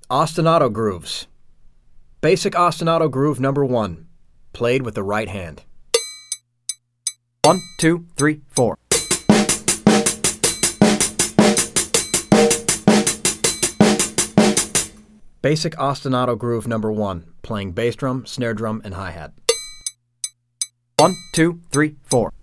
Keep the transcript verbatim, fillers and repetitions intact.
Ostinato grooves. Basic ostinato groove number one, played with the right hand. One, two, three, four. Basic ostinato groove number one, playing bass drum, snare drum, and hi-hat. One, two, three, four.